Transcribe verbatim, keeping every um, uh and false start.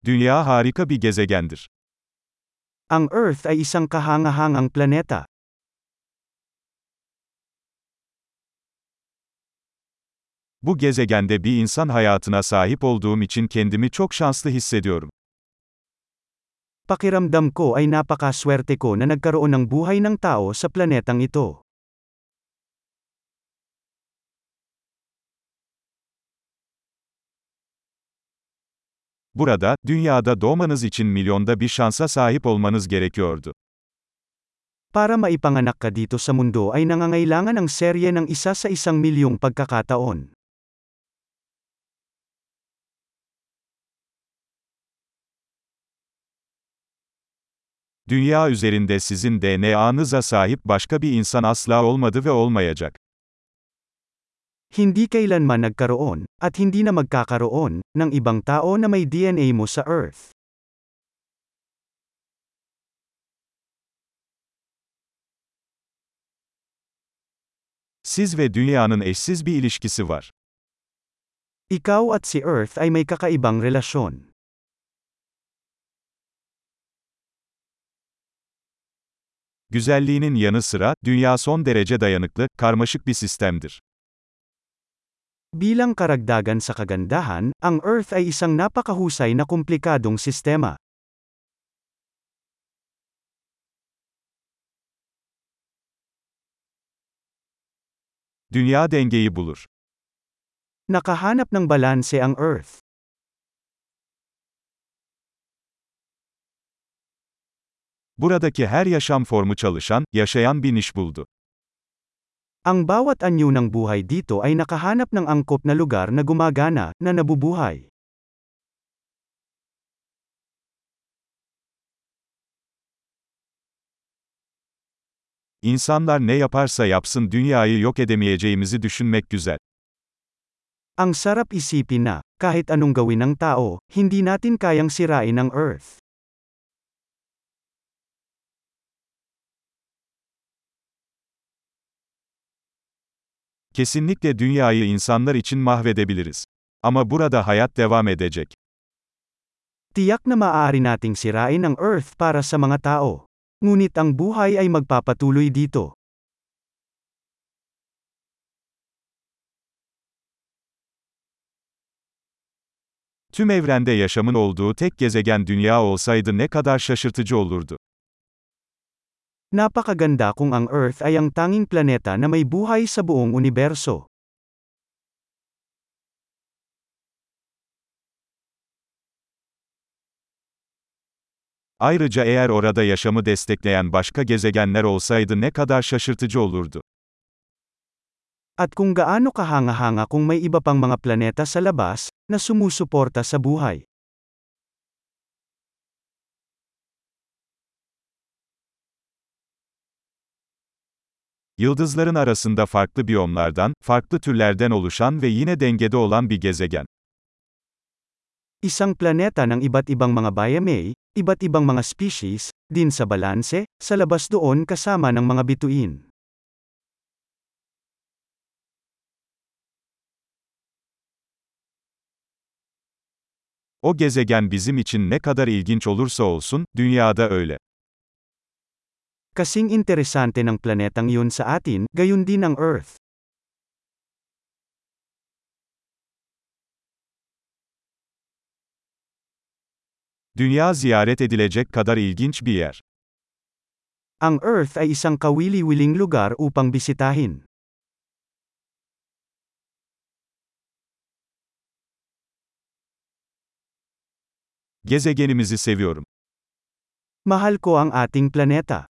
Dünya harika bir gezegendir. Ang Earth ay isang kahangahangang planeta. Bu gezegende bir insan hayatına sahip olduğum için kendimi çok şanslı hissediyorum. Pakiramdam ko ay napakaswerte ko na nagkaroon ng buhay ng tao sa planetang ito. Burada, dünyada doğmanız için milyonda bir şansa sahip olmanız gerekiyordu. Para maipanganak ka dito sa mundo ay nangangailangan ng serye ng isa sa isang milyong pagkakataon. Dünya üzerinde sizin D N A'nıza sahip başka bir insan asla olmadı ve olmayacak. Hindi kailanman nagkaroon, at hindi na magkakaroon, ng ibang tao na may D N A mo sa Earth. Siz ve dünyanın eşsiz bir ilişkisi var. Ikaw at si Earth ay may kakaibang relasyon. Güzelliğinin yanı sıra, dünya son derece dayanıklı, karmaşık bir sistemdir. Bilang karagdagan sa kagandahan, ang Earth ay isang napakahusay na komplikadong sistema. Dünya dengeyi bulur. Nakahanap ng balanse ang Earth. Buradaki her yaşam formu çalışan, yaşayan bir niş buldu. Ang bawat anyo ng buhay dito ay nakahanap ng angkop na lugar na gumagana, na nabubuhay. İnsanlar ne yaparsa yapsın dünyayı yok edemeyeceğimizi düşünmek güzel. Ang sarap isipin na, kahit anong gawin ng tao, hindi natin kayang sirain ang Earth. Kesinlikle dünyayı insanlar için mahvedebiliriz. Ama burada hayat devam edecek. Tiyak na maaari nating sirain ang Earth para sa mga tao. Ngunit ang buhay ay magpapatuloy dito. Tüm evrende yaşamın olduğu tek gezegen dünya olsaydı ne kadar şaşırtıcı olurdu. Napakaganda kung ang Earth ay ang tanging planeta na may buhay sa buong universo. Ayrıca eğer orada yaşamı destekleyen başka gezegenler olsaydı ne kadar şaşırtıcı olurdu. At kung gaano kahanga-hanga kung may iba pang mga planeta sa labas, na sumusuporta sa buhay. Yıldızların arasında farklı biyomlardan, farklı türlerden oluşan ve yine dengede olan bir gezegen. Isang planeta ng iba't ibang mga biome, iba't ibang mga species, din sa balanse, sa labas doon kasama ng mga bituin. O gezegen bizim için ne kadar ilginç olursa olsun, dünyada öyle. Kasing interesante ng planetang yun sa atin, gayon din ang Earth. Dünya ziyaret edilecek kadar ilginç bir yer. Ang Earth ay isang kawili-wiling lugar upang bisitahin. Gezegenimizi seviyorum. Mahal ko ang ating planeta.